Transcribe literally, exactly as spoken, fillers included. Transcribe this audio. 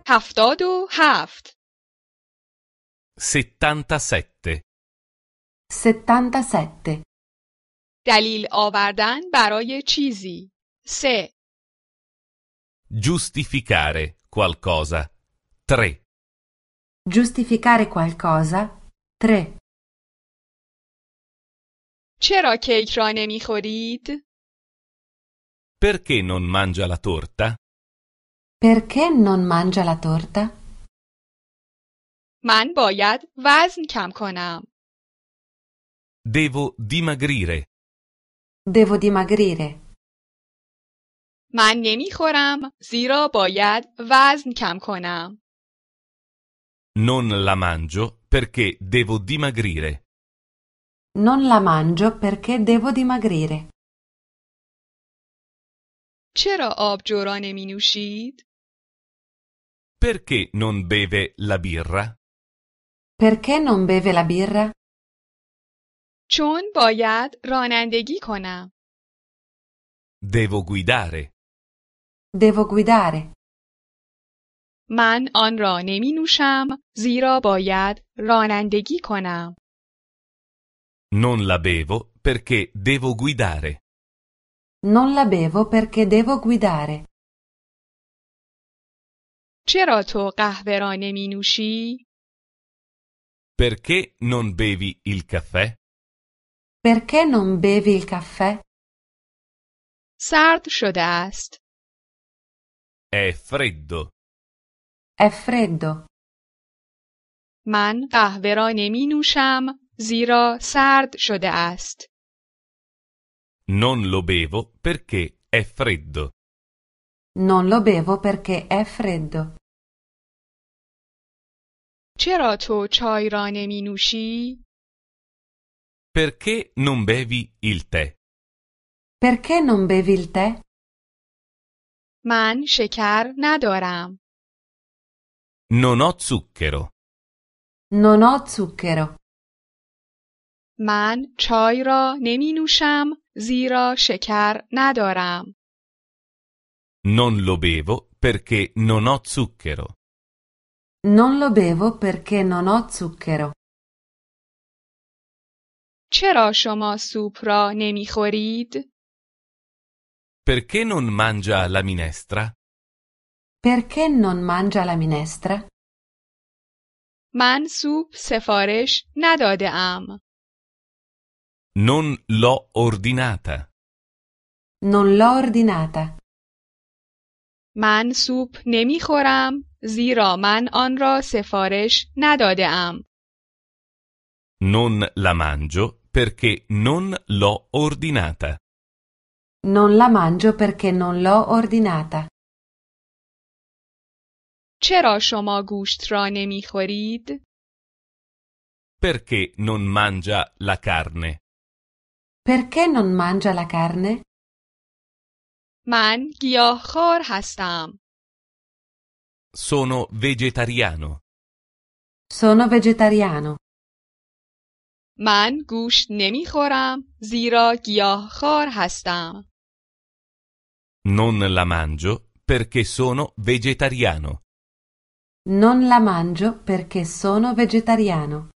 هفتاد و هفت. settantasette. settantasette. دلیل آوردن برای چیزی. سه. Giustificare qualcosa. tre. Giustificare qualcosa. tre. چرا کیک را نمیخورید؟ Perché non mangia la torta? Perché non mangia la torta? من باید وزن کم کنم. Devo dimagrire. Devo dimagrire. من نمیخورم زیرا باید وزن کم کنم. Non la mangio perché devo dimagrire. Non la mangio perché devo dimagrire. چرا آبجو را نمی نوشید؟ Perché non beve la birra? Perché non beve la birra? چون باید رانندگی کنم. Devo guidare. Devo guidare. من آن را نمی نوشم زیرا باید رانندگی کنم. Non la bevo perché devo guidare. Non la bevo perché devo guidare. چرا تو قهوه را نمی نوشی؟ Perché non bevi il caffè? Perché non bevi il caffè? سرد شده است. È freddo. È freddo. من قهوه را نمی نوشم زیرا سرد شده است. Non lo bevo perché è freddo. Non lo bevo perché è freddo. چرا تو چای را نمی نوشی؟ Perché non bevi il tè? Perché non bevi il tè? من شکر ندارم. Non ho zucchero. Non ho zucchero. من چای را نمی نوشم زیرا شکر ندارم. Non lo bevo perché non ho zucchero. Non lo bevo perché non ho zucchero. چرا شما سوپ را نمی خورید؟ Perché non mangia la minestra? Perché non mangia la minestra? من سوپ سفارش نداده ام. Non l'ho ordinata. Non l'ho ordinata. من سوپ نمی خورم زیرا من آن را سفارش نداده ام. Non la mangio perché non l'ho ordinata. Non la mangio perché non l'ho ordinata. چرا شما گوشت را نمی خورید؟ Perché non mangia la carne? Perché non mangia la carne? من گیاهخوار هستم. Sono vegetariano. Sono vegetariano. من گوشت نمی خورم زیرا گیاهخوار هستم. Non la mangio perché sono vegetariano. Non la mangio perché sono vegetariano.